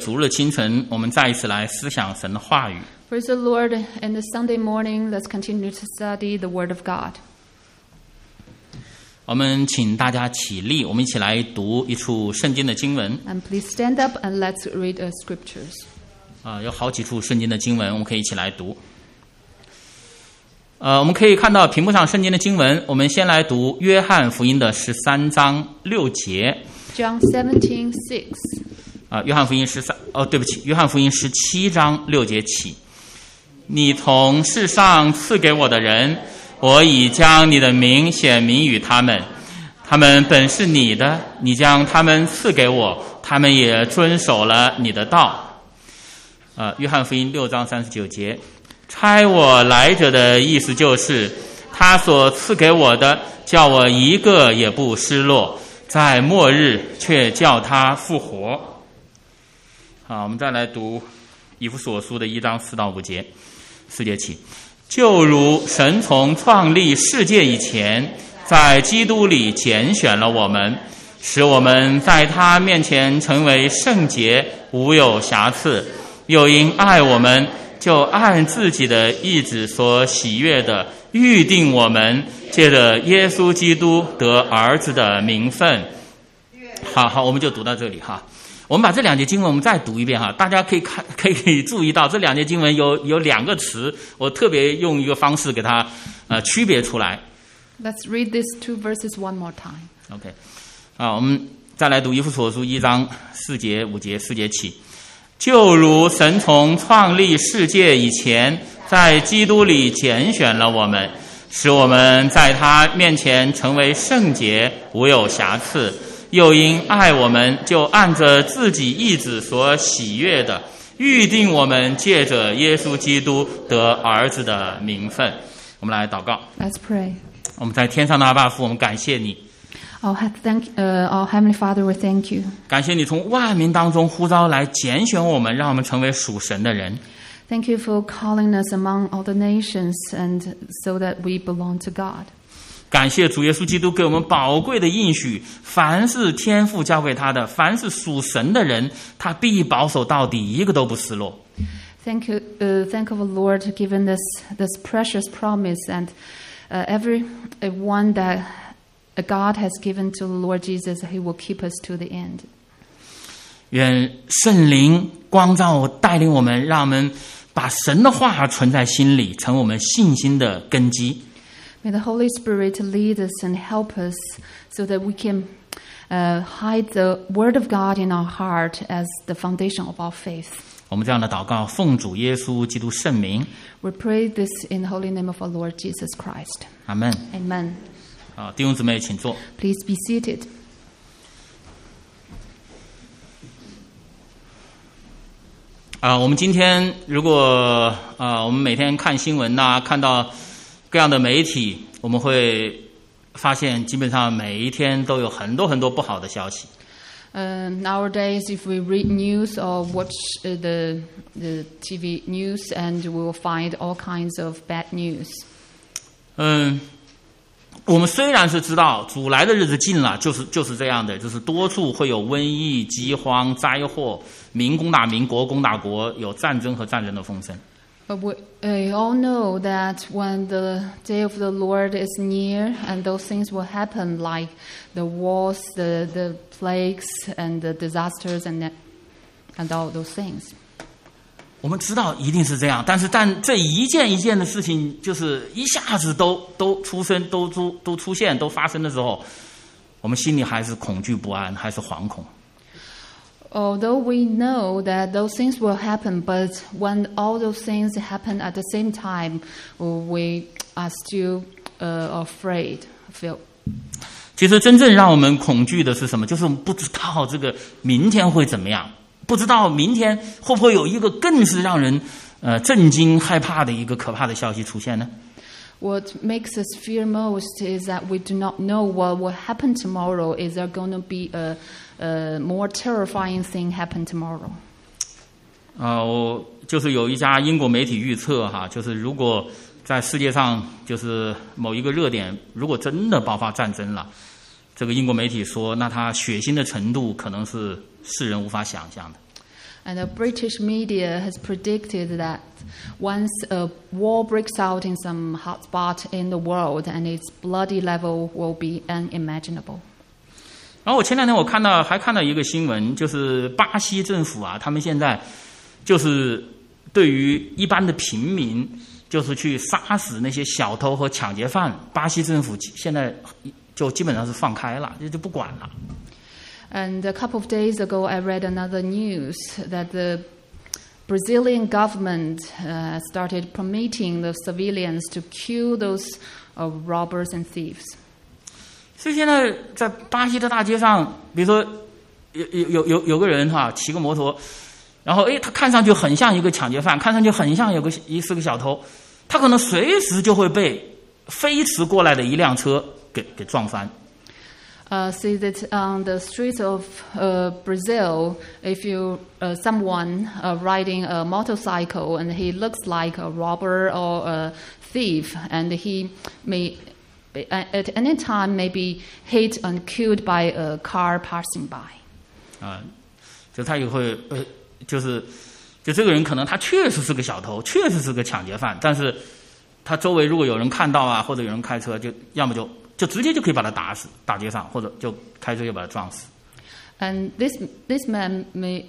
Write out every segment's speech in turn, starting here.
主日清晨，我们再一次来思想神的话语。 Praise the Lord. And the Sunday morning, let's continue to study the Word of God. 我们请大家起立，我们一起来读一处圣经的经文。 And please stand up and let's read the scriptures. 有好几处圣经的经文，我们可以一起来读。我们可以看到屏幕上圣经的经文，我们先来读约翰福音的13章6节。 John 17:6. 约翰福音约翰福音17章6节起。你从世上赐给我的人，我已将你的名显明于他们，他们本是你的，你将他们赐给我，他们也遵守了你的道。约翰福音6章39节。差我来者的意思就是，他所赐给我的，叫我一个也不失落，在末日却叫他复活。好，我们再来读以弗所书的1章4到5节，4节起。就如神从创立世界以前，在基督里拣选了我们，使我们在他面前成为圣洁，无有瑕疵，又因爱我们，就按自己的意志所喜悦的预定我们，借着耶稣基督得儿子的名分。好，我们就读到这里哈。我们把这两节经文我们再读一遍哈，大家可以注意到这两节经文有两个词，我特别用一个方式给它区别出来。 Let's read these two verses one more time. OK， 我们再来读以弗所书1章4节5节4节起。就如神从创立世界以前，在基督里拣选了我们，使我们在他面前成为圣洁，无有瑕疵，又因爱我们，就按着自己意志所喜悦的预定我们，借着耶稣基督得儿子的名分。我们来祷告。 Let's pray. 我们在天上的阿爸父，我们感谢你。 Our Heavenly Father, we thank you. 感谢你从万民当中呼召来拣选我们，让我们成为属神的人。 Thank you for calling us among all the nations and so that we belong to God. 感谢主耶稣基督给我们宝贵的应许，凡是天父交给他的，凡是属神的人，他必保守到底，一个都不失落。 Thank you, thank the Lord for giving us this precious promise, and everyone that God has given to the Lord Jesus, He will keep us to the end. 愿圣灵光照带领我们，让我们把神的话存在心里，成为我们信心的根基。 May the Holy Spirit lead us and help us so that we can hide the Word of God in our heart as the foundation of our faith. 我们这样的祷告，奉主耶稣基督圣名。 We pray this in the holy name of our Lord Jesus Christ. 阿们。 Amen. 弟兄姊妹请坐。 Please be seated. 我们今天如果我们每天看新闻呐，看到各样的媒体，我们会发现基本上每一天都有很多很多不好的消息。 Nowadays, if we read news or watch the TV news, and we will find all kinds of bad news. 我们虽然是知道主来的日子近了，就是这样的，就是多处会有瘟疫、饥荒、灾祸，民攻打民，国攻打国，有战争和战争的风声。 But we all know that when the day of the Lord is near, and those things will happen, like the wars, the plagues, and the disasters, and all those things. 我们知道一定是这样，但这一件一件的事情，就是一下子都出生、都出现、都发生的时候，我们心里还是恐惧不安，还是惶恐。 Although we know that those things will happen, but when all those things happen at the same time, we are still afraid. 其实真正让我们恐惧的是什么？就是我们不知道这个明天会怎么样，不知道明天会不会有一个更是让人震惊、害怕的一个可怕的消息出现呢？ What makes us fear most is that we do not know what will happen tomorrow. Is there going to be a more terrifying thing happen tomorrow? 我就是有一家英国媒体预测哈，就是如果在世界上就是某一个热点，如果真的爆发战争了，这个英国媒体说，那它血腥的程度可能是世人无法想象的。 And the British media has predicted that once a war breaks out in some hotspot in the world, and its bloody level will be unimaginable. 然后我前两天还看到一个新闻，就是巴西政府啊，他们现在就是对于一般的平民，就是去杀死那些小偷和抢劫犯，巴西政府现在就基本上是放开了，就不管了。 And a couple of days ago, I read another news that the Brazilian government started permitting the civilians to kill those robbers and thieves. 所以现在在巴西的大街上，比如说有个人哈骑个摩托，然后他看上去很像一个抢劫犯，看上去很像是个小偷，他可能随时就会被飞驰过来的一辆车给撞翻。 See that on the streets of Brazil, if you someone riding a motorcycle and he looks like a robber or a thief, and he may at any time may be hit and killed by a car passing by. 就他也会就这个人可能他确实是个小偷，确实是个抢劫犯，但是他周围如果有人看到啊，或者有人开车，就要么就直接就可以把他打死，大街上，或者就开车就把他撞死。 And this man may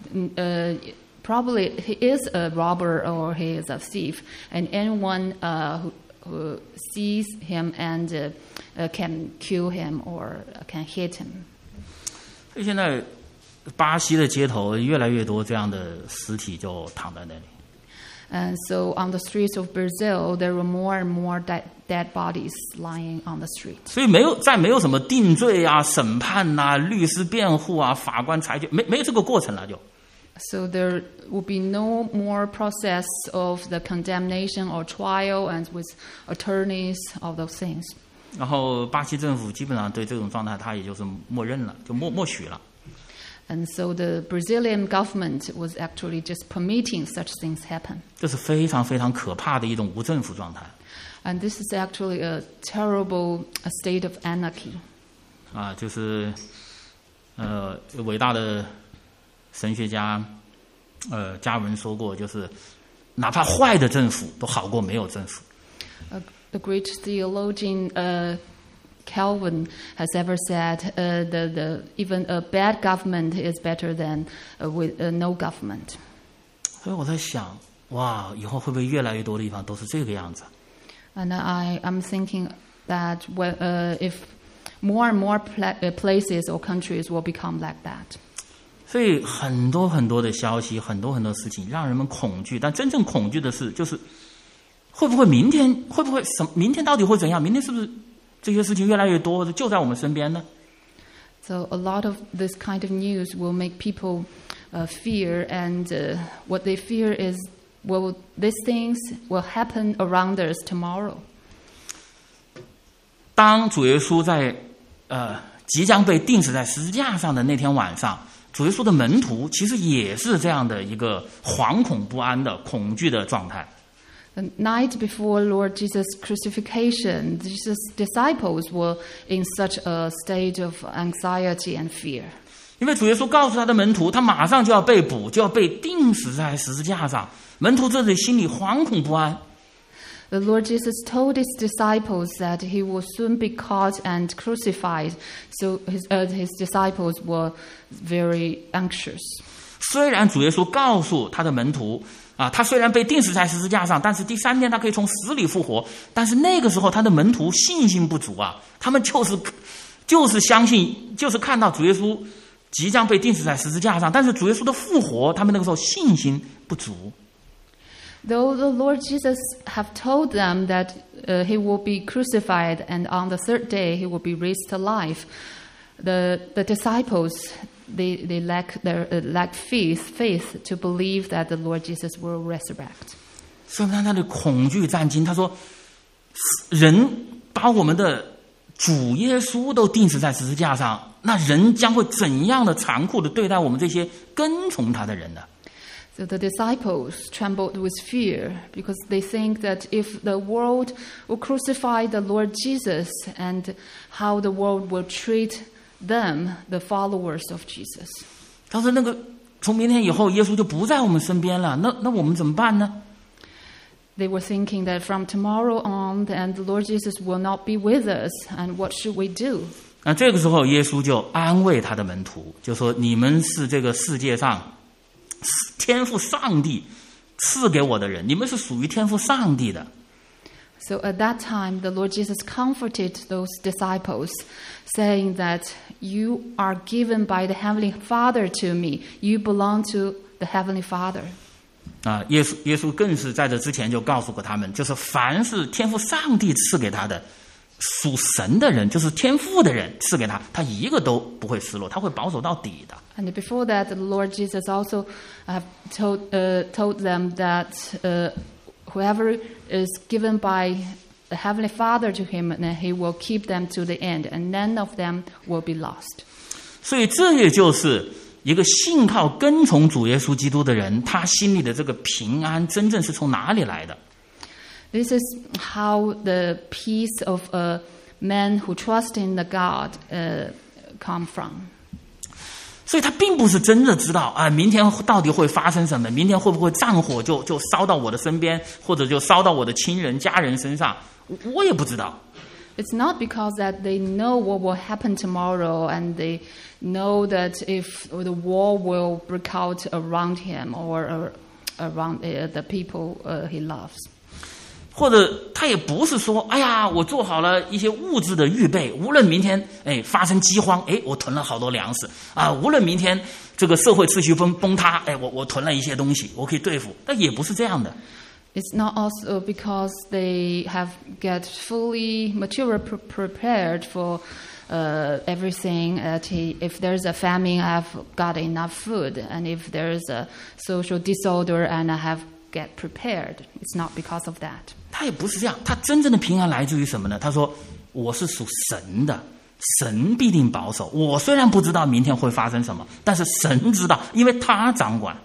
probably he is a robber or he is a thief, and anyone who sees him and can kill him or can hit him. 所以现在巴西的街头越来越多这样的尸体就躺在那里。 And so on the streets of Brazil, there were more and more dead bodies lying on the street. 所以没有什么定罪啊、审判啊、律师辩护啊、法官裁决，没有这个过程了就。 So there will be no more process of the condemnation or trial and with attorneys, all those things. 然后巴西政府基本上对这种状态，他也就是默认了，就默许了。 And so the Brazilian government was actually just permitting such things happen. 这是非常非常可怕的一种无政府状态。 And this is actually a terrible state of anarchy. 就是伟大的神学家加文说过，就是哪怕坏的政府都好过没有政府。 The great theologian Calvin has ever said even a bad government is better than with no government. 所以我在想，哇，以后会不会越来越多的地方都是这个样子？ And I'm thinking that if more and more places or countries will become like that. 所以很多很多的消息，很多很多事情让人们恐惧，但真正恐惧的是，就是会不会明天明天到底会怎样？明天是不是这些事情越来越多，就在我们身边呢？ So a lot of this kind of news will make people fear, and what they fear is, well, these things will happen around us tomorrow. 当主耶稣在即将被钉死在十字架上的那天晚上，主耶稣的门徒其实也是这样的一个惶恐不安的恐惧的状态。 The night before Lord Jesus' crucifixion, Jesus' disciples were in such a state of anxiety and fear. 因为主耶稣告诉他的门徒，他马上就要被捕，就要被钉死在十字架上。门徒这里心里惶恐不安。 The Lord Jesus told his disciples that he will soon be caught and crucified, so his disciples were very anxious. 虽然主耶稣告诉他的门徒他虽然被钉死在十字架上，但是第三天他可以从死里复活。但是那个时候他的门徒信心不足他们就是相信，就是看到主耶稣即将被钉死在十字架上，但是主耶稣的复活，他们那个时候信心不足。 Though the Lord Jesus have told them that he will be crucified and on the third day he will be raised to life, the disciples they lack faith to believe that the Lord Jesus will resurrect. 所以他的恐惧战惊，他说：“人把我们的主耶稣都钉死在十字架上，那人将会怎样的残酷的对待我们这些跟从他的人呢？” So the disciples trembled with fear because they think that if the world will crucify the Lord Jesus, and how the world will treat them, the followers of Jesus. 他说：“那个从明天以后耶稣就不在我们身边了，那我们怎么办呢？ They were thinking that from tomorrow on, and the Lord Jesus will not be with us, and what should we do? 那这个时候耶稣就安慰他的门徒，就说你们是这个世界上天父上帝赐给我的人，你们是属于天父上帝的。 So at that time, the Lord Jesus comforted those disciples, saying that you are given by the Heavenly Father to me. You belong to the Heavenly Father. 耶稣更是在这之前就告诉过他们，就是凡是天父上帝赐给他的，属神的人，就是天父的人赐给他，他一个都不会失落，他会保守到底的。 And before that, the Lord Jesus also told them that whoever is given by the Heavenly Father to him, and he will keep them to the end, and none of them will be lost. 所以这也就是一个信靠跟从主耶稣基督的人，他心里的这个平安真正是从哪里来的？ This is how the peace of a man who trusts in the God come from. 所以他并不是真的知道明天到底会发生什么，明天会不会战火就烧到我的身边，或者就烧到我的亲人家人身上，我也不知道。 It's not because that they know what will happen tomorrow, and they know that if the war will break out around him or around the people he loves. 或者他也不是说，哎呀，我做好了一些物质的预备，无论明天发生饥荒，我囤了好多粮食啊，无论明天这个社会秩序崩塌，我囤了一些东西，我可以对付。但也不是这样的。 It's not also because they have get fully material prepared for everything. If there's a famine, I've got enough food, and if there's a social disorder, and I have get prepared. It's not because of that. 他也不是这样，他真正的平安来自于什么呢？他说：“我是属神的，神必定保守。我虽然不知道明天会发生什么，但是神知道，因为他掌管。”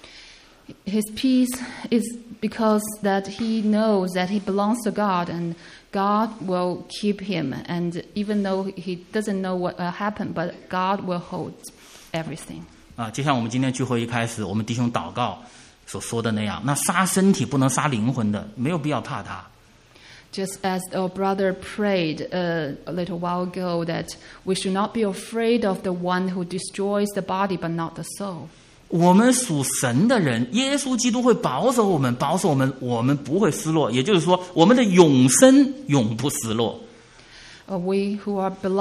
His peace is because that he knows that he belongs to God, and God will keep him. And even though he doesn't know what will happen, but God will hold everything. 就像我们今天聚会一开始，我们弟兄祷告所说的那样，那杀身体不能杀灵魂的，没有必要怕他。 Just as our brother prayed a little while ago, that we should not be afraid of the one who destroys the body but not the soul. 我们属神的人，耶稣基督会保守我们，我们不会失落。也就是说，我们的永生永不失落。 We who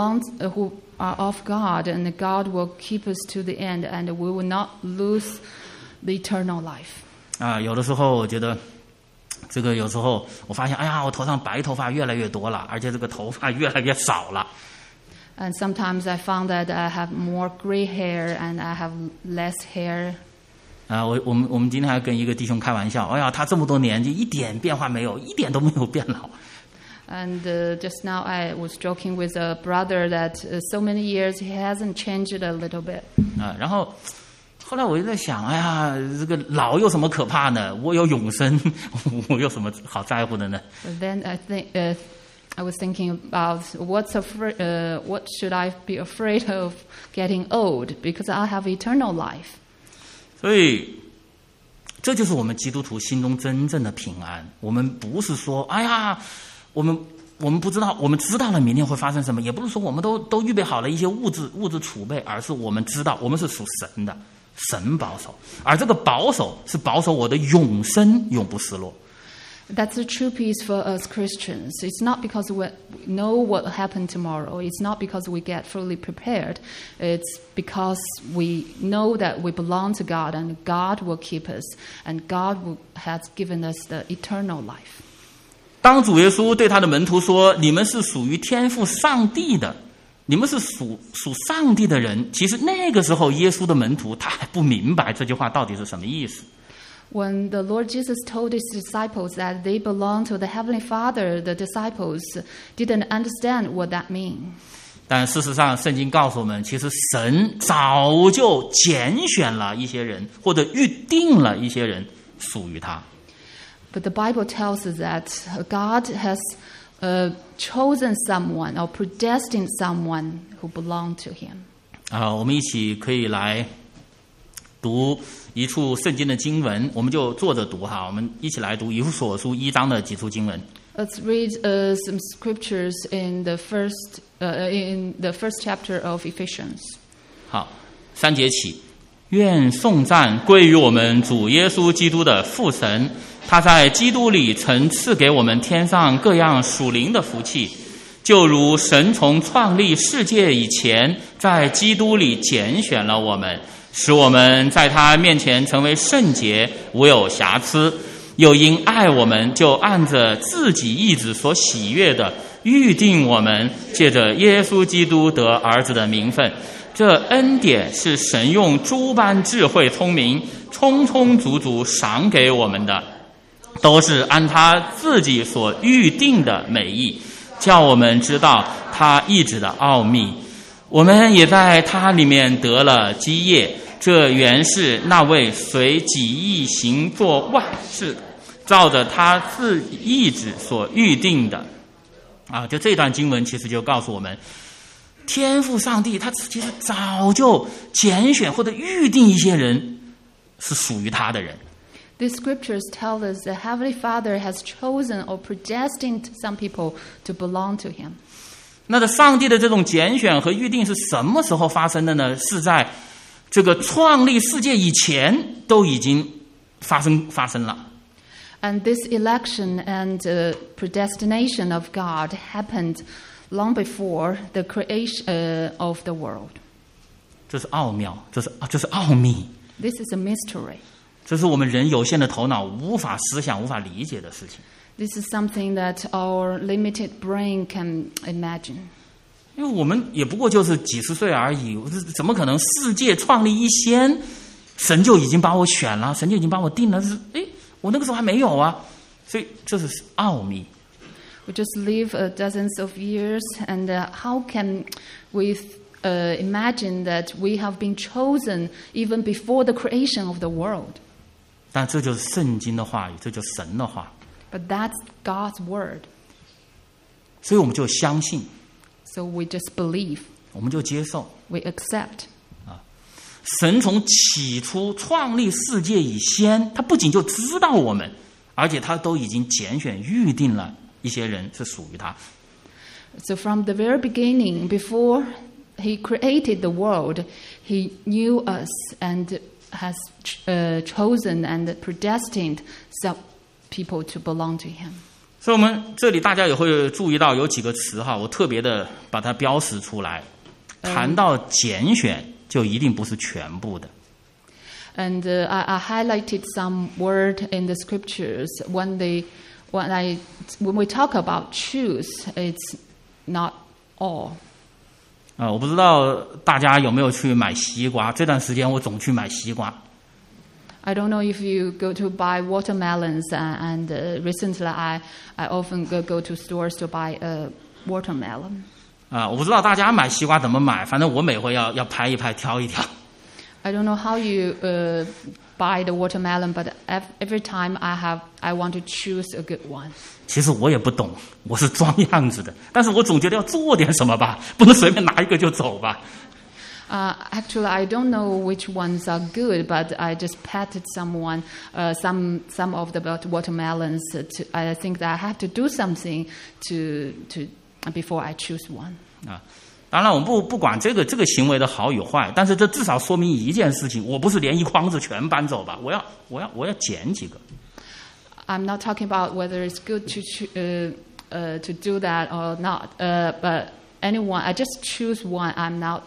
are of God, and God will keep us to the end, and we will not lose the eternal life. 有的时候我觉得，这个有时候我发现，我头上白头发越来越多了，而且这个头发越来越少了。 And sometimes I found that I have more gray hair and I have less hair. 我们今天还跟一个弟兄开玩笑，他这么多年就一点变化没有，一点都没有变老。 And just now I was joking with a brother that so many years he hasn't changed a little bit. 然后后来我就在想，这个老有什么可怕呢？我有永生，我有什么好在乎的呢？ But then I was thinking about what should I be afraid of getting old, because I have eternal life. 所以这就是我们基督徒心中真正的平安。我们不是说，我们不知道，我们知道了明天会发生什么，也不是说我们都预备好了一些物质储备，而是我们知道我们是属神的，神保守，而这个保守是保守我的永生永不失落。 That's the true peace for us Christians. It's not because we know what will happen tomorrow. It's not because we get fully prepared. It's because we know that we belong to God, and God will keep us, and God has given us the eternal life. 当主耶稣对他的门徒说：“你们是属于天父上帝的，你们是属上帝的人。”其实那个时候，耶稣的门徒他还不明白这句话到底是什么意思。 When the Lord Jesus told his disciples that they belong to the Heavenly Father, the disciples didn't understand what that means. 但事实上，圣经告诉我们，其实神早就拣选了一些人，或者预定了一些人属于他。 But the Bible tells us that God has chosen someone or predestined someone who belonged to Him. 我们一起可以来读一处圣经的经文，我们就坐着读哈，我们一起来读以弗所书1章的几处经文。 Let's read some scriptures in the first chapter of Ephesians. 好，3节起，愿颂赞归于我们主耶稣基督的父神，他在基督里曾赐给我们天上各样属灵的福气，就如神从创立世界以前，在基督里拣选了我们，使我们在他面前成为圣洁，无有瑕疵。又因爱我们，就按着自己意志所喜悦的预定我们，借着耶稣基督得儿子的名分。这恩典是神用诸般智慧聪明充充足足赏给我们的，都是按他自己所预定的美意，叫我们知道他意志的奥秘。我们也在他里面得了基业，这原是那位随己意行作万事，照着他自己意志所预定的。就这段经文其实就告诉我们，天父上帝他其实早就拣选或者预定一些人是属于他的人。 These scriptures tell us the Heavenly Father has chosen or predestined some people to belong to Him. 那的上帝的这种拣选和预定是什么时候发生的呢？是在这个创立世界以前都已经发生了。 And this election and predestination of God happened long before the creation of the world. 这是奥妙，这是奥秘。 This is a mystery. 这是我们人有限的头脑无法思想、无法理解的事情。 This is something that our limited brain can imagine. 因为我们也不过就是几十岁而已，怎么可能世界创立一先，神就已经把我选了，神就已经把我定了？我那个时候还没有啊，所以这是奥秘。 We just live dozens of years, and how can we imagine that we have been chosen even before the creation of the world? 但这就是圣经的话语，这就是神的话。 But that's God's word. 所以我们就相信。 So we just believe. 我们就接受。 We accept. 神从起初创立世界以先，他不仅就知道我们，而且他都已经拣选预定了一些人是属于他。 So from the very beginning, before He created the world, He knew us and has chosen and predestined some people to belong to Him. 所以我们这里大家也会注意到有几个词哈，我特别的把它标识出来。谈到拣选，就一定不是全部的。 And I highlighted some word in the scriptures when we talk about choose, it's not all. 我不知道大家有没有去买西瓜，这段时间我总去买西瓜。 I don't know if you go to buy watermelons, and recently I often go to stores to buy a watermelon. 我不知道大家买西瓜怎么买，反正我每回要拍一拍，挑一挑。 I don't know how you buy the watermelon, but every time I want to choose a good one. 其实我也不懂，我是装样子的，但是我总觉得要做点什么吧，不能随便拿一个就走吧。 Actually, I don't know which ones are good, but I just patted someone, some of the watermelons. I think that I have to do something before I choose one. 当然我们不管这个行为的好与坏，但是这至少说明一件事情，我不是连一筐子全搬走吧，我要捡几个。 I'm not talking about whether it's good to do that or not, but anyone, I just choose one. I'm not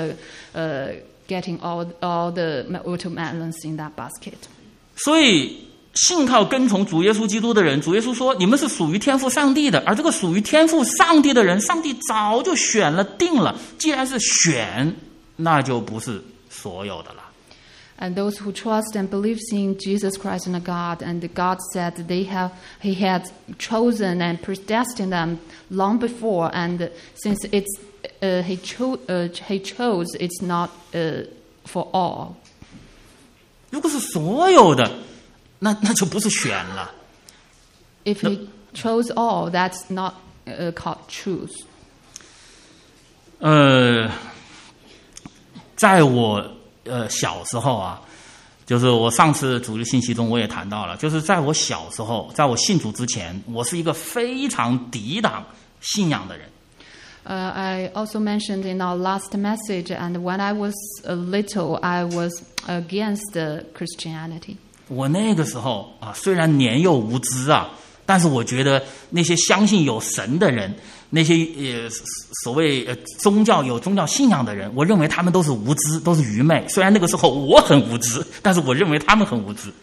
getting all the watermelons in that basket. 所以信靠跟从主耶稣基督的人，主耶稣说你们是属于天父上帝的，而这个属于天父上帝的人，上帝早就选了定了，既然是选，那就不是所有的了。 And those who trust and believe in Jesus Christ and God, and God said He had chosen and predestined them long before, and since He chose, it's not for all. 如果是所有的，那就不是选了。 If He chose all, that's not called choose. 在我小时候啊， 就是我上次主日信息中我也谈到了，就是在我小时候，在我信主之前，我是一个非常抵挡信仰的人。 I also mentioned in our last message, and when I was little, I was against Christianity. 我那个时候啊，虽然年幼无知啊，但是我觉得那些相信有神的人，那些所谓宗教信仰的人，我认为他们都是无知，都是愚昧。虽然那个时候我很无知，但是我认为他们很无知。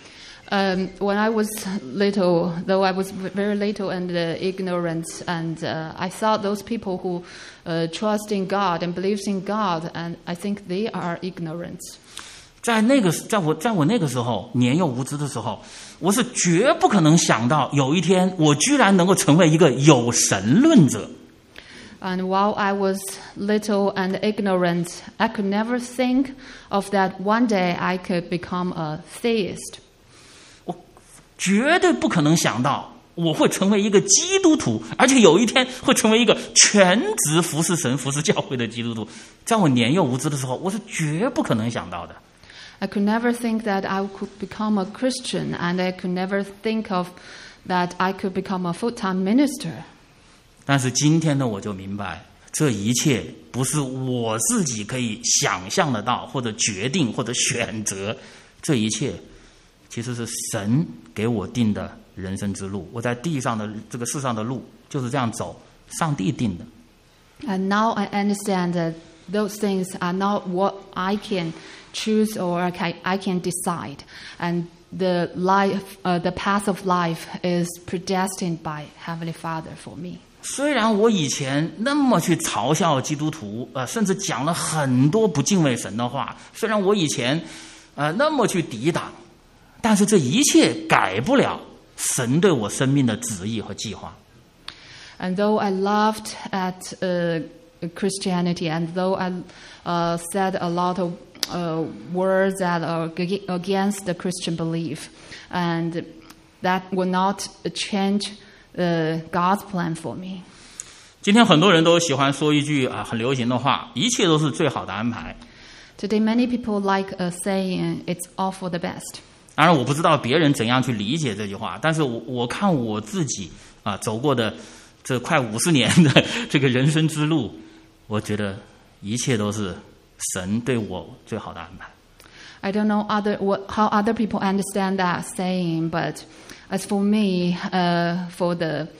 When I was little, though I was very little and ignorant, and I thought those people who trust in God and believes in God, and I think they are ignorant. 在我那个时候年幼无知的时候，我是绝不可能想到有一天我居然能够成为一个有神论者。 And while I was little and ignorant, I could never think of that one day I could become a theist. 我绝对不可能想到我会成为一个基督徒，而且有一天会成为一个全职服侍神、服侍教会的基督徒。在我年幼无知的时候，我是绝不可能想到的。 I could never think that I could become a Christian, and I could never think of that I could become a full-time minister. 但是今天的我就明白，这一切不是我自己可以想象得到，或者决定，或者选择。这一切其实是神给我定的人生之路。我在地上的这个世上的路就是这样走，上帝定的。 And now I understand that those things are not what I can choose or I can decide. And the path of life is predestined by Heavenly Father for me. 虽然我以前那么去嘲笑基督徒，甚至讲了很多不敬畏神的话，虽然我以前那么去抵挡，但是这一切改不了神对我生命的旨意和计划。 And though I laughed at Christianity, and though I said a lot of words that are against the Christian belief, and that will not change God's plan for me. 今天很多人都喜欢说一句很流行的话，一切都是最好的安排。 Today, many people like saying it's all for the best. 当然，我不知道别人怎样去理解这句话，但是我看我自己走过的这快50年的这个人生之路，我觉得一切都是神对我最好的安排。 I don't know how other people understand that saying, but as for me, for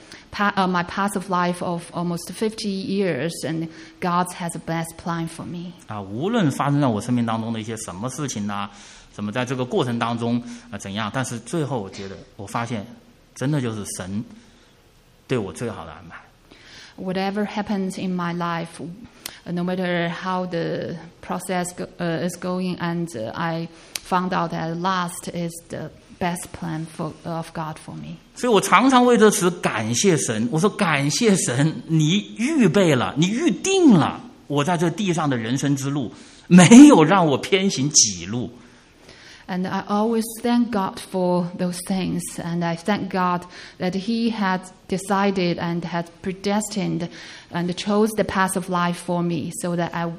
my path of life of almost 50 years, and God has a best plan for me. 无论发生在我生命当中的一些什么事情啊，什么在这个过程当中怎样，但是最后我发现，真的就是神对我最好的安排。 Whatever happens in my life, no matter how the process is going, and I found out that at last is the best plan of God for me. 所以我常常为这词感谢神。我说感谢神，你预备了，你预定了我在这地上的人生之路，没有让我偏行己路。 And I always thank God for those things, and I thank God that He had decided and had predestined and chose the path of life for me, so that I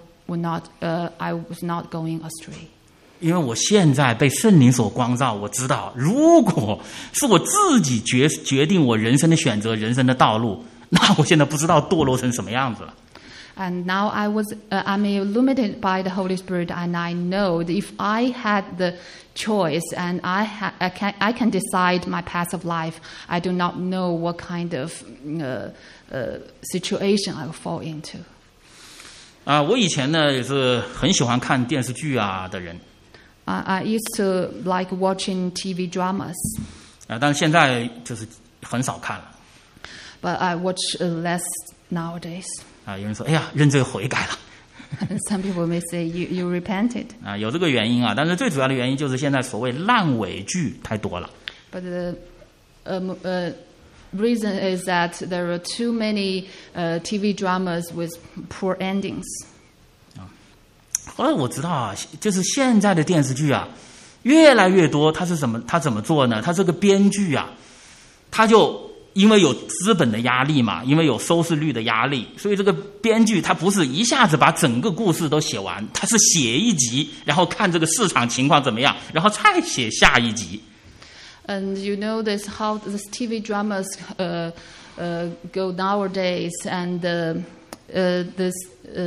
was not going astray. 因为我现在被圣灵所光照，我知道，如果是我自己决定我人生的选择、人生的道路，那我现在不知道堕落成什么样子了。 And now I'm illuminated by the Holy Spirit, and I know that if I had the choice and I can decide my path of life, I do not know what kind of situation I will fall into. 我以前呢也是很喜欢看电视剧的人。 I used to like watching TV dramas. 但是现在就是很少看了。 But I watch less nowadays. 有人说：“哎呀，认罪悔改了。” And some people may say you repented. 有这个原因但是最主要的原因就是现在所谓烂尾剧太多了。 But the reason is that there are too many TV dramas with poor endings. 后来我知道就是现在的电视剧越来越多，他怎么做呢？他这个编剧他就因为有资本的压力嘛，因为有收视率的压力，所以这个编剧他不是一下子把整个故事都写完，他是写一集，然后看这个市场情况怎么样，然后再写下一集。 And you know this how this TV dramas go nowadays, and this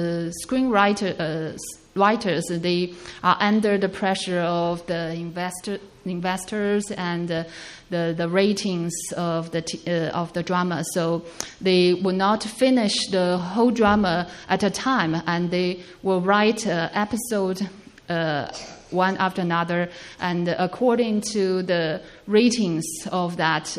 writers they are under the pressure of the investors and the ratings of the drama, so they will not finish the whole drama at a time, and they will write episode one after another, and according to the ratings of that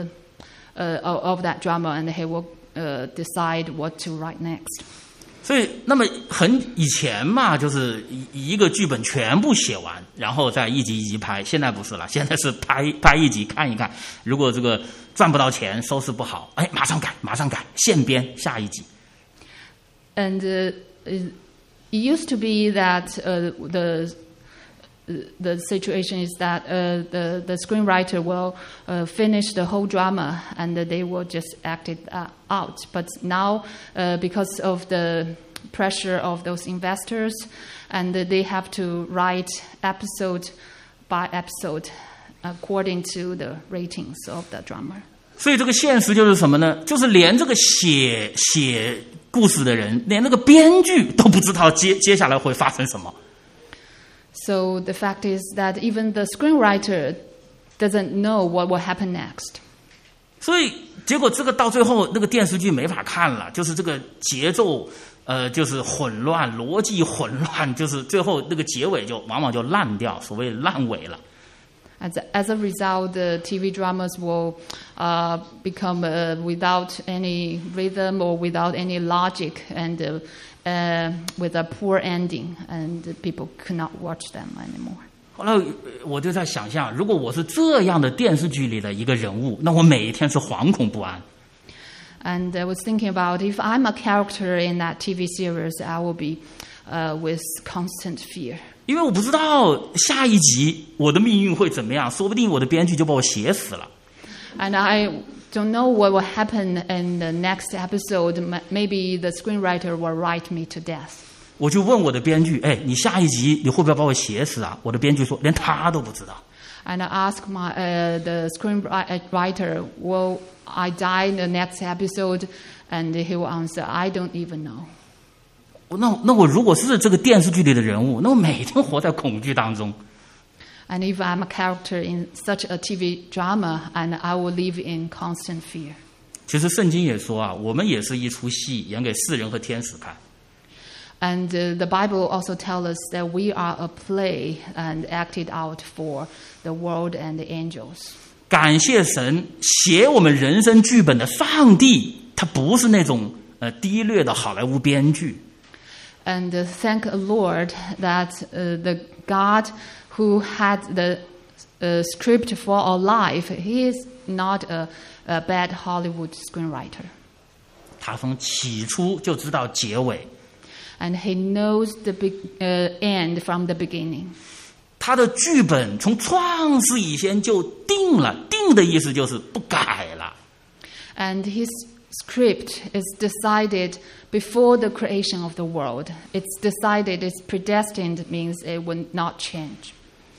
drama, and he will decide what to write next. 所以，那么以前嘛，就是一个剧本全部写完，然后再一集一集拍。现在不是了，现在是拍一集看一看，如果这个赚不到钱，收视不好，哎，马上改，现编下一集。 And it used to be that the situation is that the screenwriter will finish the whole drama and they will just act it out. But now, because of the pressure of those investors, and they have to write episode by episode according to the ratings of the drama. 所以这个现实就是什么呢？就是连这个写故事的人，连那个编剧都不知道接下来会发生什么。 So the fact is that even the screenwriter doesn't know what will happen next. 所以结果这个到最后那个电视剧没法看了，就是这个节奏就是混乱，逻辑混乱，就是最后那个结尾就往往就烂掉，所谓烂尾了。 As a result, the TV dramas will become without any rhythm or without any logic, and with a poor ending, and people could not watch them anymore. 后来我就在想象，如果我是这样的电视剧里的一个人物，那我每一天是惶恐不安。 And I was thinking about if I'm a character in that TV series, I will be with constant fear. 因为我不知道下一集我的命运会怎么样，说不定我的编剧就把我写死了。 And I don't know what will happen in the next episode. Maybe the screenwriter will write me to death. 我就问我的编剧，你下一集你会不会把我写死啊？我的编剧说，连他都不知道。 And I asked the screenwriter, will I die in the next episode? And he will answer, I don't even know. 那我如果是这个电视剧里的人物，那我每天活在恐惧当中。 And if I'm a character in such a TV drama, and I will live in constant fear. 其实圣经也说啊，我们也是一出戏，演给世人和天使看。 And the Bible also tells us that we are a play and acted out for the world and the angels. 感谢神，写我们人生剧本的上帝，他不是那种低劣的好莱坞编剧。 And thank the Lord that the God who had the script for our life, He is not a bad Hollywood screenwriter. 他从起初就知道结尾。 And He knows the end from the beginning. 他的剧本从创世以前就定了，定的意思就是不改了。 And His script is decided before the creation of the world. It's decided, it's predestined, means it will not change.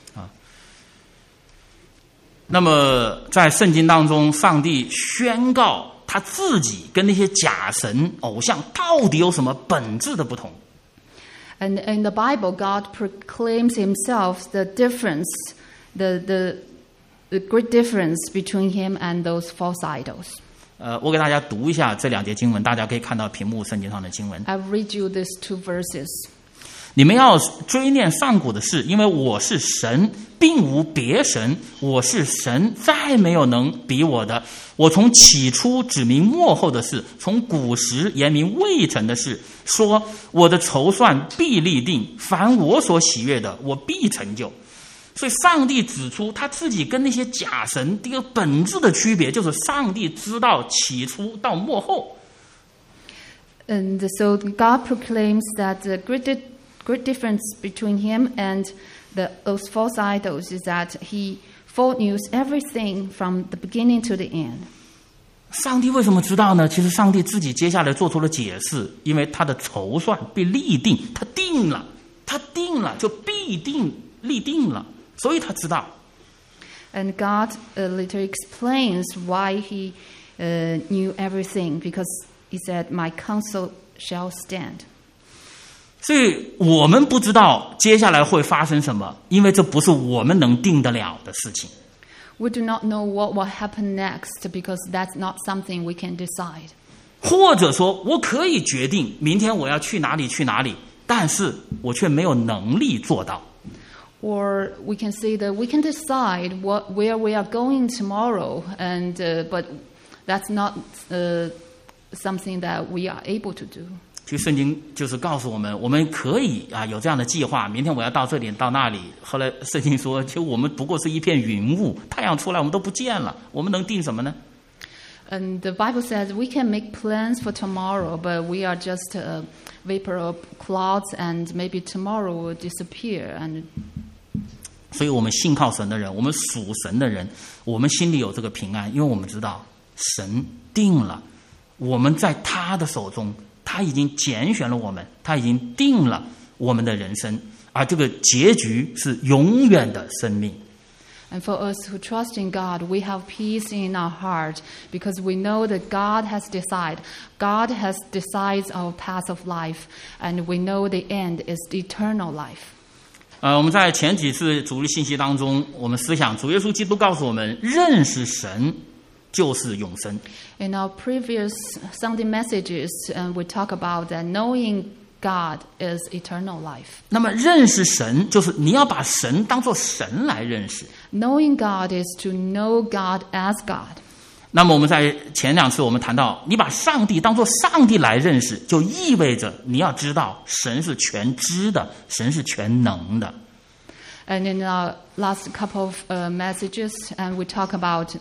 那么在圣经当中，上帝宣告他自己跟那些假神偶像到底有什么本质的不同。 And in the Bible, God proclaims Himself the difference, the great difference between Him and those false idols. 我给大家读一下这两节经文，大家可以看到屏幕圣经上的经文。 I'll read you these two verses. 你们要追念上古的事，因为我是神，并无别神，我是神，再没有能比我的。我从起初指明末后的事，从古时言明未成的事，说我的筹算必立定，凡我所喜悦的，我必成就。所以上帝指出他自己跟那些假神这个本质的区别，就是上帝知道起初到末后。 And so God proclaims that the great difference between Him and those false idols is that He foreknews everything from the beginning to the end. 上帝为什么知道呢？其实上帝自己接下来做出了解释，因为他的筹算被立定，他定了就必定立定了，所以他知道。 And God later explains why he knew everything, because he said, "My counsel shall stand." 所以我们不知道接下来会发生什么，因为这不是我们能定得了的事情。 We do not know what will happen next, because that's not something we can decide. 或者说我可以决定明天我要去哪里，但是我却没有能力做到。 Or we can say that we can decide where we are going tomorrow, but that's not something that we are able to do. 其实圣经就是告诉我们，我们可以有这样的计划，明天我要到这里到那里。后来圣经说，其实我们不过是一片云雾，太阳出来我们都不见了，我们能定什么呢？ And the Bible says we can make plans for tomorrow, but we are just a vapor of clouds, and maybe tomorrow will disappear. And 所以我们信靠神的人，我们属神的人，我们心里有这个平安，因为我们知道神定了，我们在他的手中，他已经拣选了我们，他已经定了我们的人生，而这个结局是永远的生命。 And for us who trust in God, we have peace in our heart, because we know that God has decided. God has decided our path of life, and we know the end is eternal life. 我们在前几次主日信息当中，我们思想主耶稣基督告诉我们，认识神就是永生。 In our previous Sunday messages, we talk about that knowing God is eternal life. 那么认识神就是你要把神当作神来认识。 Knowing God is to know God as God. 那么我们在前两次我们谈到，你把上帝当作上帝来认识，就意味着你要知道神是全知的，神是全能的。 And in our last couple of messages, and we talk about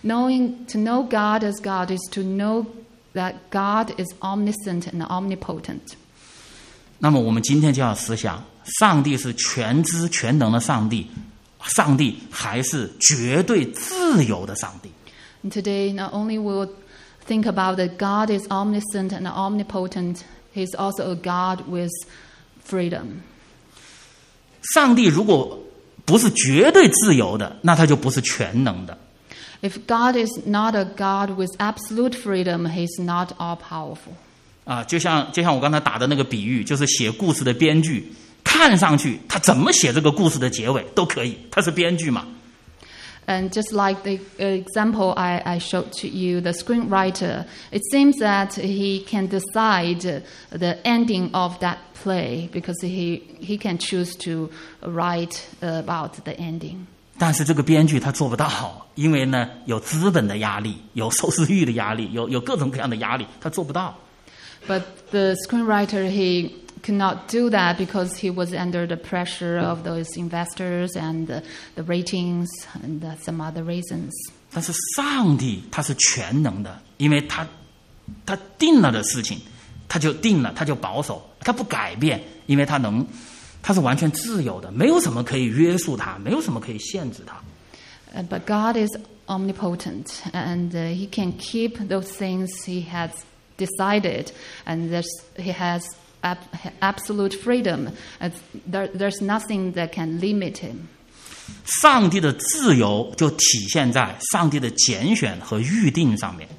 to know God as God is to know that God is omniscient and omnipotent. 那么我们今天就要思想，上帝是全知全能的上帝，上帝还是绝对自由的上帝。 And today, not only we'll think about that God is omniscient and omnipotent, He's also a God with freedom. 上帝如果不是绝对自由的，那他就不是全能的。 If God is not a God with absolute freedom, He's not all-powerful. 就像我刚才打的那个比喻，就是写故事的编剧，看上去他怎么写这个故事的结尾都可以，他是编剧嘛。 And just like the example I showed to you, the screenwriter, it seems that he can decide the ending of that play because he can choose to write about the ending. 但是这个编剧他做不到，因为呢有资本的压力，有收视率的压力，有各种各样的压力，他做不到。 But the screenwriter, he could not do that because he was under the pressure of those investors and the ratings and some other reasons. 但是上帝他是全能的，因为他定了的事情，他就定了，他就保守，他不改变，因为他是完全自由的，没有什么可以约束他，没有什么可以限制他。 But God is omnipotent, and He can keep those things He has decided, and He has absolute freedom. There's nothing that can limit Him. 上帝的自由就体现在上帝的拣选和预定上面。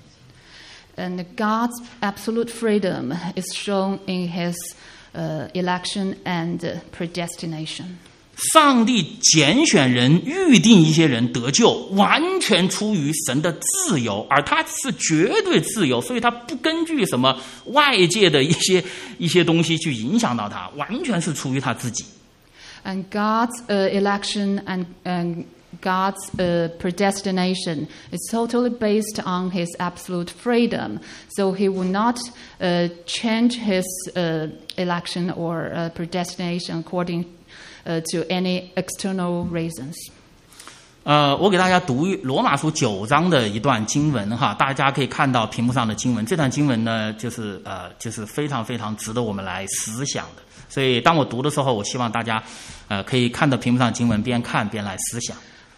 And God's absolute freedom is shown in His election and predestination. 上帝拣选人、预定一些人得救，完全出于神的自由，而他是绝对自由，所以他不根据什么外界的一些东西去影响到他，完全是出于他自己。 And God's election and God's predestination is totally based on His absolute freedom. So He will not change His election or predestination according to any external reasons. 我给大家读罗马书9章的一段经文哈，大家可以看到屏幕上的经文。这段经文呢，就是非常非常值得我们来思想的。所以当我读的时候，我希望大家可以看到屏幕上的经文，边看边来思想。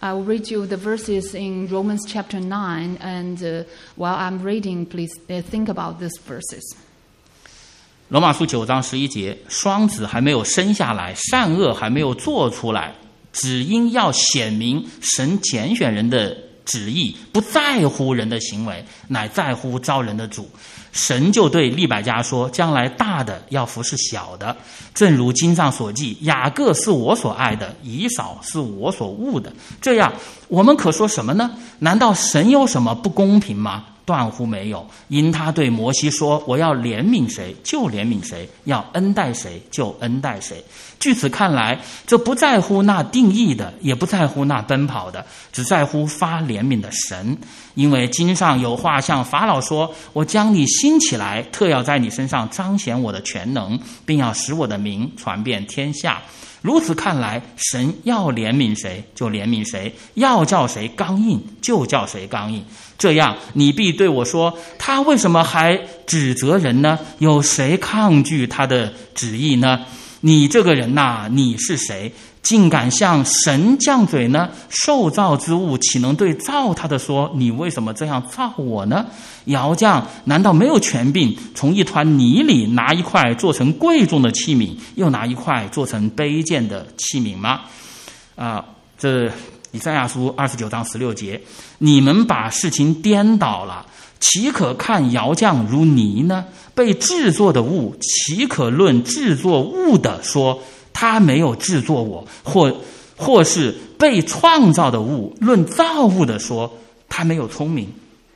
I will read you the verses in Romans chapter 9, and while I'm reading, please think about these verses. 罗马书9章11节，双子还没有生下来，善恶还没有做出来，只因要显明神拣选人的旨意，不在乎人的行为，乃在乎召人的主。神就对利百加说，将来大的要服侍小的，正如经上所记，雅各是我所爱的，以扫是我所恶的。这样我们可说什么呢？难道神有什么不公平吗？断乎没有，因他对摩西说，我要怜悯谁就怜悯谁，要恩待谁就恩待谁。据此看来，这不在乎那定义的，也不在乎那奔跑的，只在乎发怜悯的神。因为经上有话向法老说，我将你兴起来，特要在你身上彰显我的全能，并要使我的名传遍天下。如此看来，神要怜悯谁就怜悯谁，要叫谁刚硬就叫谁刚硬。这样你必对我说，他为什么还指责人呢？有谁抗拒他的旨意呢？你这个人呐，你是谁，竟敢向神犟嘴呢？受造之物岂能对造他的说，你为什么这样造我呢？窑匠难道没有权柄从一团泥里拿一块做成贵重的器皿，又拿一块做成卑贱的器皿吗？这以赛亚书29章16节，你们把事情颠倒了，岂可看窑匠如泥呢？被制作的物，岂可论制作物的说，他没有制作我，或是被创造的物，论造物的说，他没有聪明。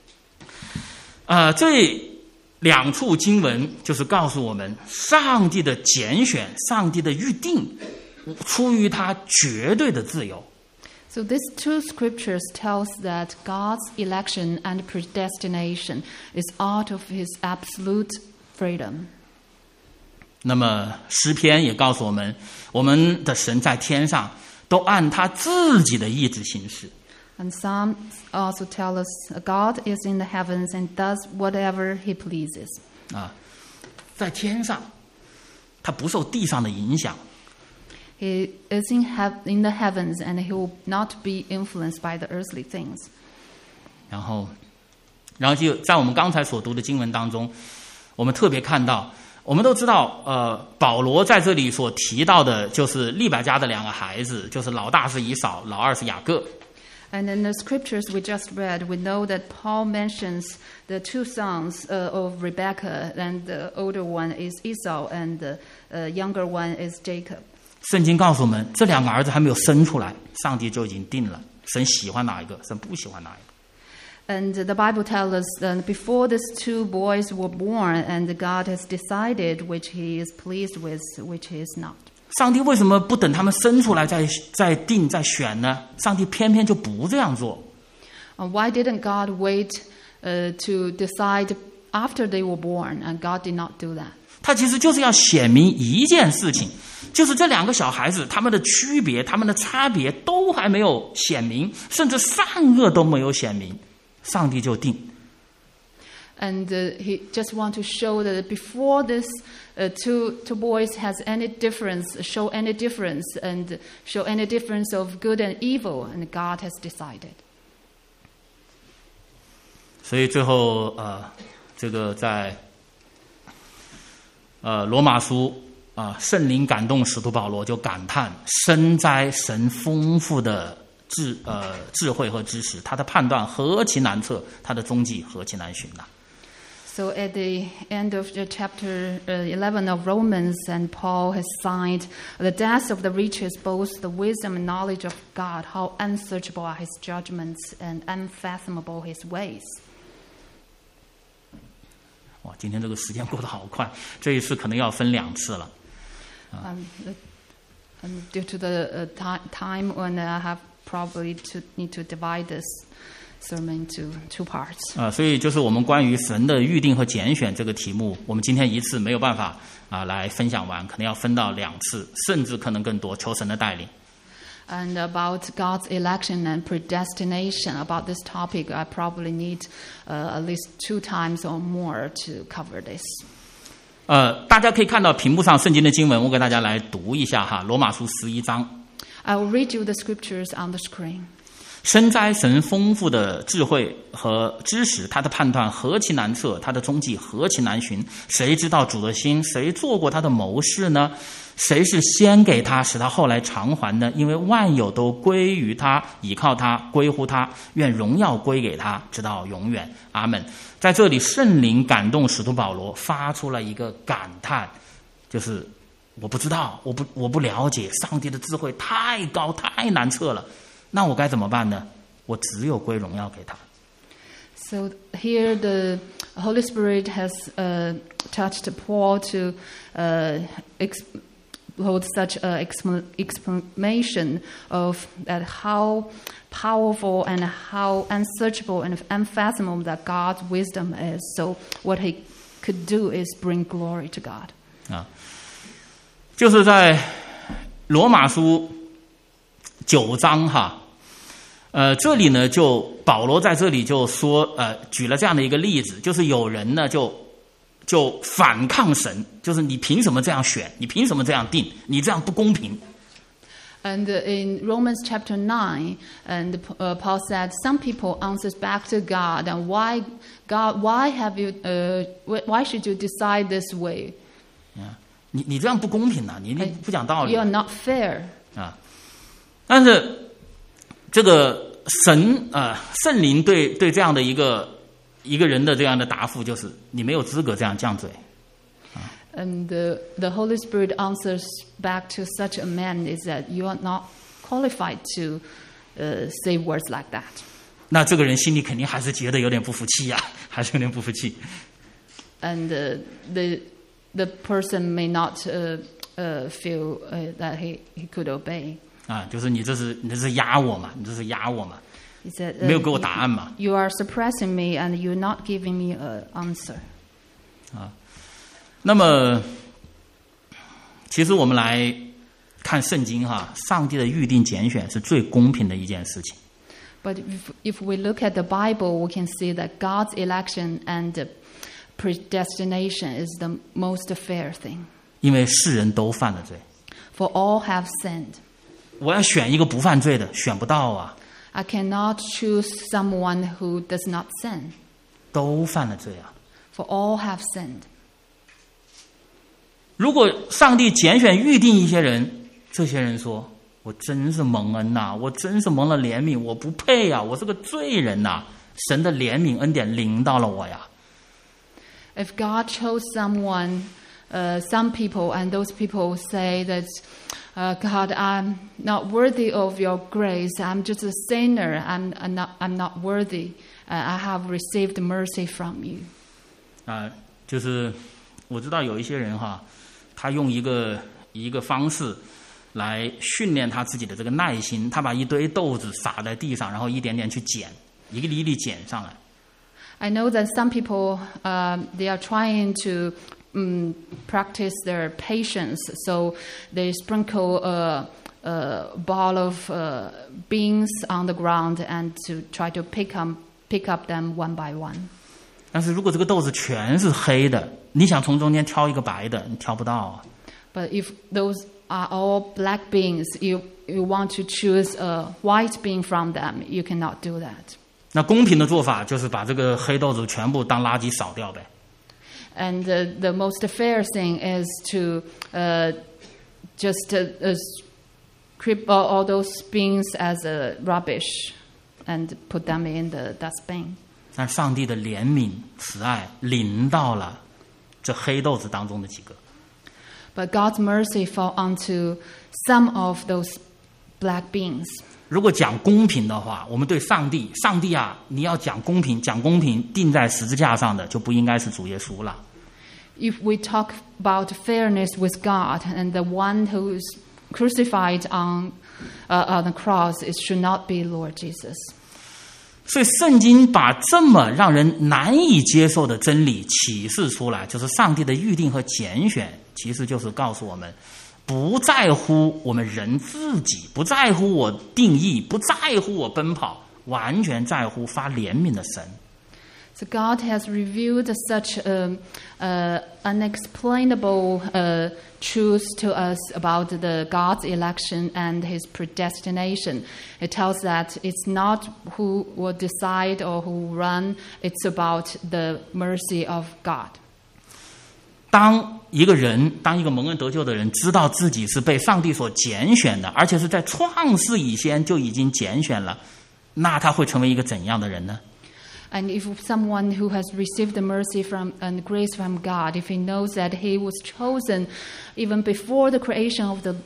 这两处经文就是告诉我们，上帝的拣选，上帝的预定，出于他绝对的自由。 So these two scriptures tells that God's election and predestination is out of his absolute freedom. 那么诗篇也告诉我们，我们的神在天上都按他自己的意志行事。 And Psalms also tell us God is in the heavens and does whatever he pleases. 在天上，他不受地上的影响。 He is in the heavens and he will not be influenced by the earthly things. 然后就在我们刚才所读的经文当中，我们特别看到，我们都知道，保罗在这里所提到的就是利百加的两个孩子，就是老大是以扫，老二是雅各。 And in the scriptures we just read, we know that Paul mentions the two sons of Rebekah, and the older one is Esau, and the younger one is Jacob. 圣经告诉我们，这两个儿子还没有生出来，上帝就已经定了，神喜欢哪一个，神不喜欢哪一个。 And the Bible tells us that before these two boys were born, and God has decided which he is pleased with, which he is not. 上帝为什么不等他们生出来再定再选呢？上帝偏偏就不这样做。 Why didn't God wait to decide after they were born? And God did not do that. 他其实就是要显明一件事情，就是这两个小孩子他们的区别、他们的差别都还没有显明，甚至善恶都没有显明，上帝就定。 And he just want to show that before this two boys has any difference, show any difference, and show any difference of good and evil, and God has decided. 所以最后这个在罗马书圣灵感动使徒保罗就感叹，深哉神丰富的智慧和知识，他的判断何其难测，他的踪迹何其难寻呐。 So at the end of the chapter 11 of Romans, and Paul has signed the depths of the riches, both the wisdom and knowledge of God, how unsearchable are his judgments and unfathomable his ways. 哇，今天这个时间过得好快，这一次可能要分2次了。 Due to the time, when I have probably need to divide this sermon into 2 parts. 所以就是我们关于神的预定和拣选这个题目，我们今天一次没有办法来分享完，可能要分到2次，甚至可能更多，求神的带领。 And about God's election and predestination, about this topic, I probably need at least 2 times or more to cover this. 大家可以看到屏幕上圣经的经文，我给大家来读一下哈，罗马书11章。 I will read you the scriptures on the screen. 深哉神丰富的智慧和知识，他的判断何其难测，他的踪迹何其难寻。谁知道主的心？谁做过他的谋士呢？谁是先给他，使他后来偿还呢？因为万有都归于他，倚靠他，归乎他，愿荣耀归给他，直到永远。阿们。在这里，圣灵感动使徒保罗，发出了一个感叹，就是我不知道，我不了解，上帝的智慧太高太难测了，那我该怎么办呢？我只有归荣耀给他。 So here the Holy Spirit has touched Paul to hold such an explanation of that how powerful and how unsearchable and unfathomable that God's wisdom is. So what he could do is bring glory to God. 就是在罗马书9章哈，这里呢就保罗在这里就说举了这样的一个例子，就是有人呢就反抗神，就是你凭什么这样选？你凭什么这样定？你这样不公平。 And in Romans chapter 9, and Paul said, some people answers back to God, and why should you decide this way? 你这样不公平啊！你不讲道理。 You are not fair. 但是这个神圣灵对这样的一个人的这样的答复就是：你没有资格这样犟嘴。 And the Holy Spirit answers back to such a man is that you are not qualified to say words like that. 那这个人心里肯定还是觉得有点不服气呀，还是有点不服气。 And the person may not feel that he could obey. 就是你这是压我嘛，你这是压我嘛，没有给我答案嘛。 You are suppressing me and you're not giving me an answer. 那么，其实我们来看圣经哈，上帝的预定拣选是最公平的一件事情。 But if we look at the Bible, we can see that God's election and predestination is the most fair thing. 因为世人都犯了罪。 For all have sinned. 我要选一个不犯罪的，选不到啊。 I cannot choose someone who does not sin. 都犯了罪啊。 For all have sinned. 如果上帝拣选预定一些人，这些人说：“我真是蒙恩呐，我真是蒙了怜悯，我不配啊，我是个罪人呐，神的怜悯恩典临到了我呀。” If God chose someone, some people, and those people say that, God, I'm not worthy of your grace. I'm just a sinner. I'm not worthy. I have received mercy from you. 就是我知道有一些人哈，他用一个方式来训练他自己的这个耐心，他把一堆豆子撒在地上，然后一点点去捡，一粒一粒捡上来。 I know that some people, they are trying to practice their patience, so they sprinkle a ball of beans on the ground and to try to pick up them one by one. 但是如果这个豆子全是黑的，你想从中间挑一个白的，你挑不到啊。 But if those are all black beans, you want to choose a white bean from them, you cannot do that. 那公平的做法就是把这个黑豆子全部当垃圾扫掉呗。 And the most fair thing is to just keep all those beans as rubbish and put them in the dustbin. 但上帝的怜悯慈爱临到了这黑豆子当中的几个。 But God's mercy fell onto some of those black beans. 如果讲公平的话，我们对上帝啊，你要讲公平，钉在十字架上的就不应该是主耶稣了。 If we talk about fairness with God, and the one who is crucified on the cross, it should not be Lord Jesus. 所以圣经把这么让人难以接受的真理启示出来，就是上帝的预定和拣选，其实就是告诉我们，不在乎我们人自己，不在乎我定义，不在乎我奔跑，完全在乎发怜悯的神。 So God has revealed such unexplainable truths to us about the God's election and His predestination. It tells that it's not who will decide or who run; it's about the mercy of God. 当一个蒙恩得救的人知道自己是被上帝所拣选的，而且是在创世以前就已经拣选了，那他会成为一个怎样的人呢？ And if someone who has received the mercy and grace from God, if he knows that he was chosen even before the creation of the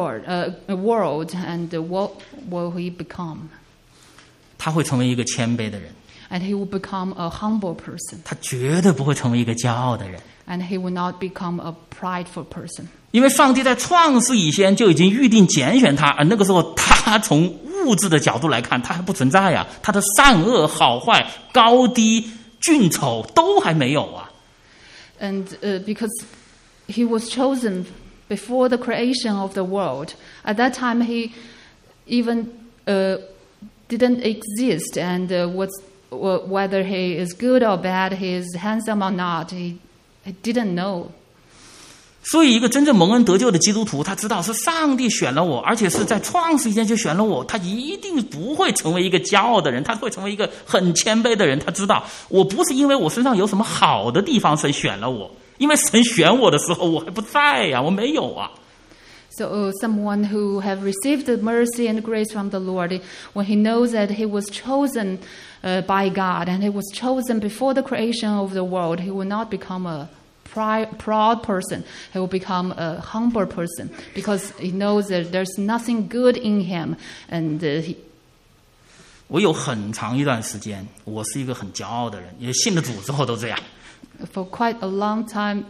world, and what will he become? 他会成为一个谦卑的人。 And he will become a humble person. 他绝对不会成为一个骄傲的人。 And he will not become a prideful person. 因为上帝在创世以前就已经预定拣选他，而那个时候他从物质的角度来看，他还不存在呀，他的善恶好坏、高低、俊丑都还没有啊。 And because he was chosen before the creation of the world, at that time he even didn't exist, and whether he is good or bad, he is handsome or not, he didn't know. 所以一个真正蒙恩得救的基督徒，他知道是上帝选了我，而且是在创世以前就选了我，他一定不会成为一个骄傲的人，他会成为一个很谦卑的人。他知道我不是因为我身上有什么好的地方神选了我，因为神选我的时候我还不在呀，我没有啊。 So someone who have received the mercy and grace from the Lord, when he knows that he was chosen by God and he was chosen before the creation of the world, he will not become a proud person. He will become a humble person because he knows that there's nothing good in him. And 我有很长一段时间，我是一个很骄傲的人，也信了主之后都这样。 For quite a long time,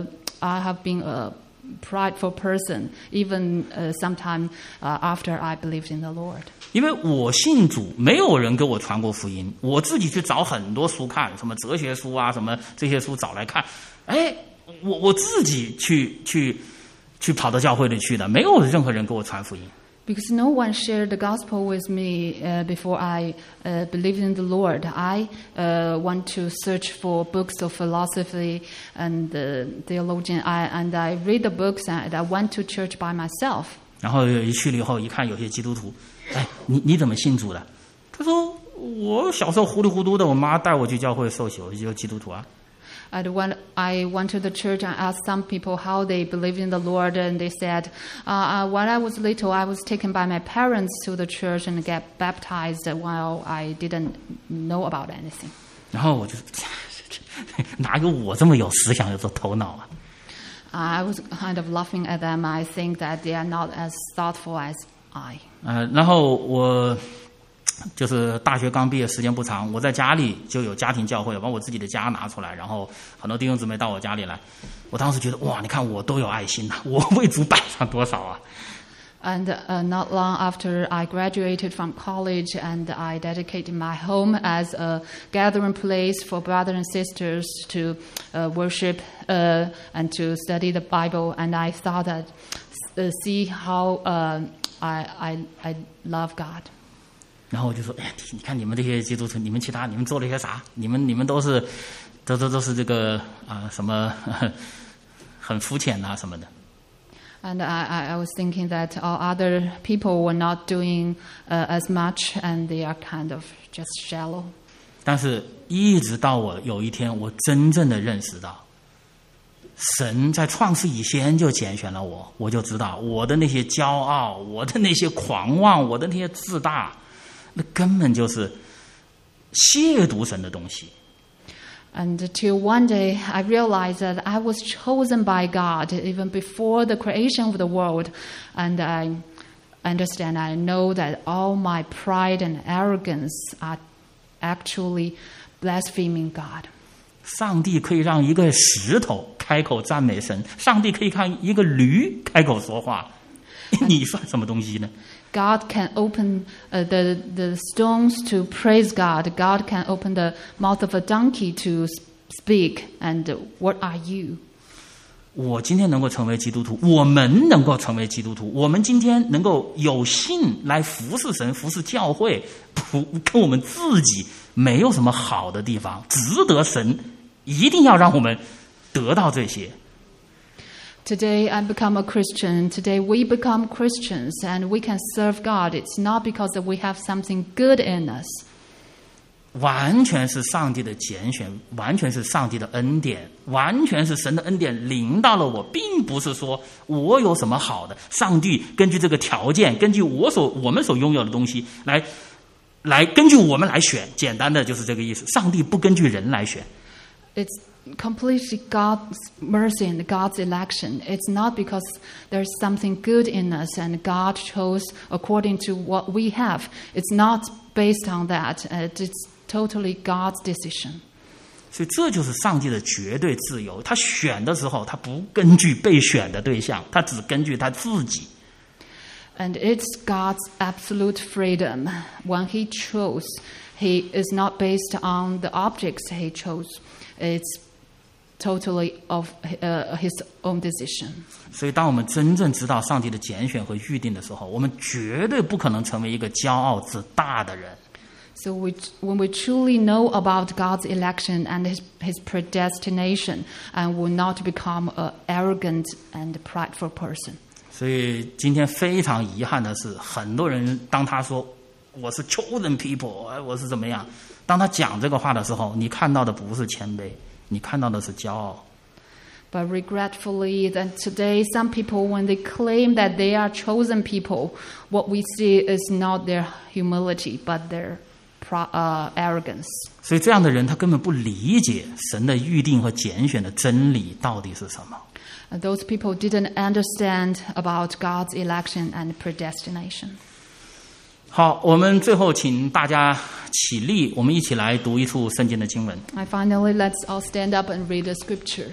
I have been a prideful person, even sometime after I believed in the Lord. 因为我信主，没有人给我传过福音，我自己去找很多书看，什么哲学书啊，什么这些书找来看。哎，我自己去跑到教会里去的，没有任何人给我传福音。 Because no one shared the gospel with me before I believed in the Lord. I want to search for books of philosophy and theologian, and I read the books, and I went to church by myself. 然后去了以后，一看有些基督徒，哎，你怎么信主的？他说我小时候糊里糊涂的，我妈带我去教会受洗，我就基督徒啊。 And when I went to the church and asked some people how they believed in the Lord, and they said, when I was little, I was taken by my parents to the church and get baptized while I didn't know about anything. 然后我就哪有我这么有思想、有这头脑啊？ I was kind of laughing at them. I think that they are not as thoughtful as I. 然后我。就是大学刚毕业时间不长，我在家里就有家庭教会，把我自己的家拿出来，然后很多弟兄姊妹到我家里来。我当时觉得哇，你看我都有爱心啊，我为主摆上多少啊。 And not long after I graduated from college, and I dedicated my home as a gathering place for brothers and sisters to worship and to study the Bible. And I thought that see how I love God. 然后我就说，哎，你看你们这些基督徒，你们做了些啥？你们都是这个什么很肤浅啊什么的。 And I was thinking that all other people were not doing as much, and they are kind of just shallow. 但是，一直到我有一天，我真正的认识到，神在创世以前就拣选了我，我就知道我的那些骄傲，我的那些狂妄，我的那些自大。那根本就是亵渎神的东西。 And till one day I realized that I was chosen by God even before the creation of the world, and I understand, I know that all my pride and arrogance are actually blaspheming God. 上帝可以让一个石头开口赞美神，上帝可以让一个驴开口说话，你算什么东西呢？ God can open the stones to praise God. God can open the mouth of a donkey to speak. And what are you? 我今天能够成为基督徒，我们能够成为基督徒，我们今天能够有幸来服侍神、服侍教会，跟我们自己没有什么好的地方，值得神一定要让我们得到这些。 Today I become a Christian. Today we become Christians and we can serve God. It's not because we have something good in us. 完全是上帝的拣选，完全是上帝的恩典，完全是神的恩典临到了我，并不是说我有什么好的，上帝根据这个条件，根据我们所拥有的东西来根据我们来选，简单的就是这个意思。上帝不根据人来选。 It's completely God's mercy and God's election. It's not because there's something good in us and God chose according to what we have. It's not based on that. It's totally God's decision. 所以这就是上帝的绝对自由。他选的时候，他不根据被选的对象，他只根据他自己。 And it's God's absolute freedom. When He chose, He is not based on the objects He chose. It's totally of His own decision. 所以当我们真正知道上帝的拣选和预定的时候，我们绝对不可能成为一个骄傲自大的人。 So when we truly know about God's election and His predestination, and will not become an arrogant and prideful person. 所以今天非常遗憾的是，很多人当他说我是 chosen people， 我是怎么样，当他讲这个话的时候，你看到的不是谦卑，你看到的是骄傲。 But regretfully, that today some people, when they claim that they are chosen people, what we see is not their humility, but their arrogance. 所以这样的人他根本不理解神的预定和拣选的真理到底是什么。 Those people didn't understand about God's election and predestination. 好，我们最后请大家起立，我们一起来读一处圣经的经文。 Finally, let's all stand up and read the scripture.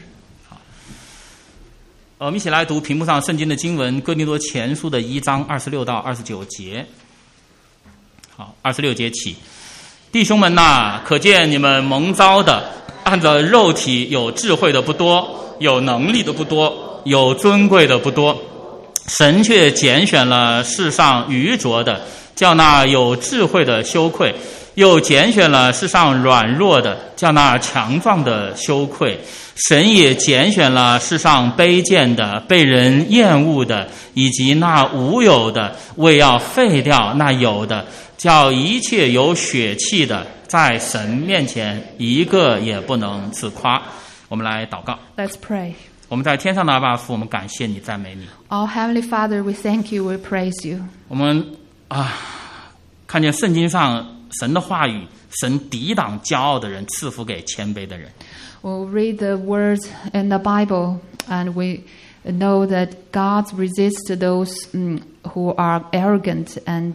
我们一起来读屏幕上圣经的经文，哥林多前书的1章26到29节。好，26节起。弟兄们哪，可见你们蒙召的，按着肉体有智慧的不多，有能力的不多，有尊贵的不多，神却拣选了世上愚拙的，叫那有智慧的羞愧，又拣选了世上软弱的，叫那强壮的羞愧。神也拣选了世上卑贱的，被人厌恶的，以及那无有的，为要废掉那有的，叫一切有血气的，在神面前一个也不能自夸。我们来祷告。 Let's pray. 我们在天上的阿爸父，我们感谢你，赞美你。 Our Heavenly Father, we thank you, we praise you. 我们看见圣经上神的话语，神抵挡骄傲的人，赐福给谦卑的人。 We'll read the words in the Bible, and we know that God resists those who are arrogant and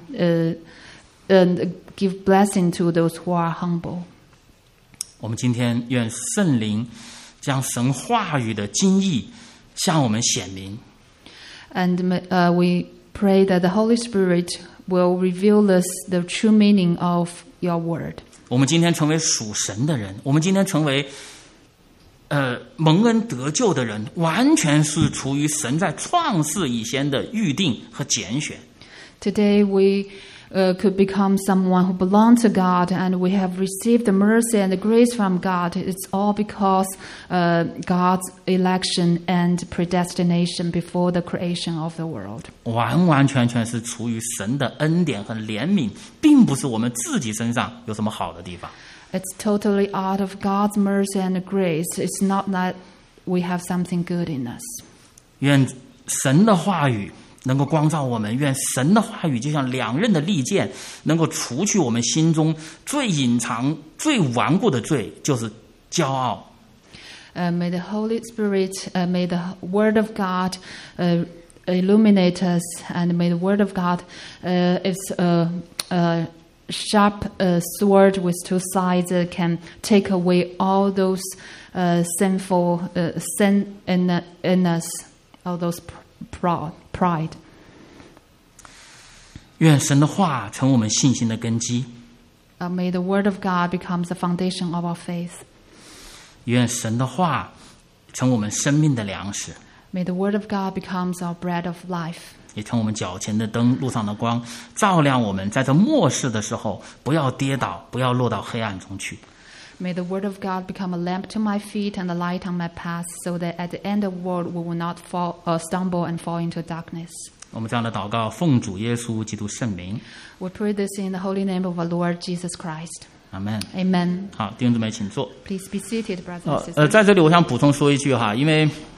give blessing to those who are humble. 我们今天愿圣灵将神话语的精义向我们显明。 And we pray that the Holy Spirit will reveal us the true meaning of your word. 我们今天成为属神的人，我们今天成为蒙恩得救的人，完全是出于神在创世以前的预定和拣选。 Today we could become someone who belongs to God, and we have received the mercy and the grace from God. It's all because God's election and predestination before the creation of the world. 完完全全是出于神的恩典和怜悯，并不是我们自己身上有什么好的地方。 It's totally out of God's mercy and grace. It's not that we have something good in us. 愿神的话语能够光照我们，愿神的话语就像两刃的利剑，能够除去我们心中最隐藏、最顽固的罪，就是骄傲。 May the Holy Spirit, may the Word of God illuminate us, and may the Word of God is a sharp sword with two sides that can take away all those sinful sin in us, all those pride. 愿神的话成我们信心的根基。 May the Word of God become the foundation of our faith. 愿神的话成我们生命的粮食， May the word of God becomes our bread of life. 也成我们脚前的灯，路上的光，照亮我们在这末世的时候，不要跌倒，不要落到黑暗中去。 May the word of God become a lamp to my feet and a light on my path, so that at the end of the world we will not stumble and fall into darkness. 我们这样的祷告，奉主耶稣基督圣名， We pray this in the holy name of our Lord Jesus Christ. 阿门。 Amen. 好，弟兄姊妹，请坐。 Please be seated, brothers and sisters. 在这里我想补充说一句哈，因为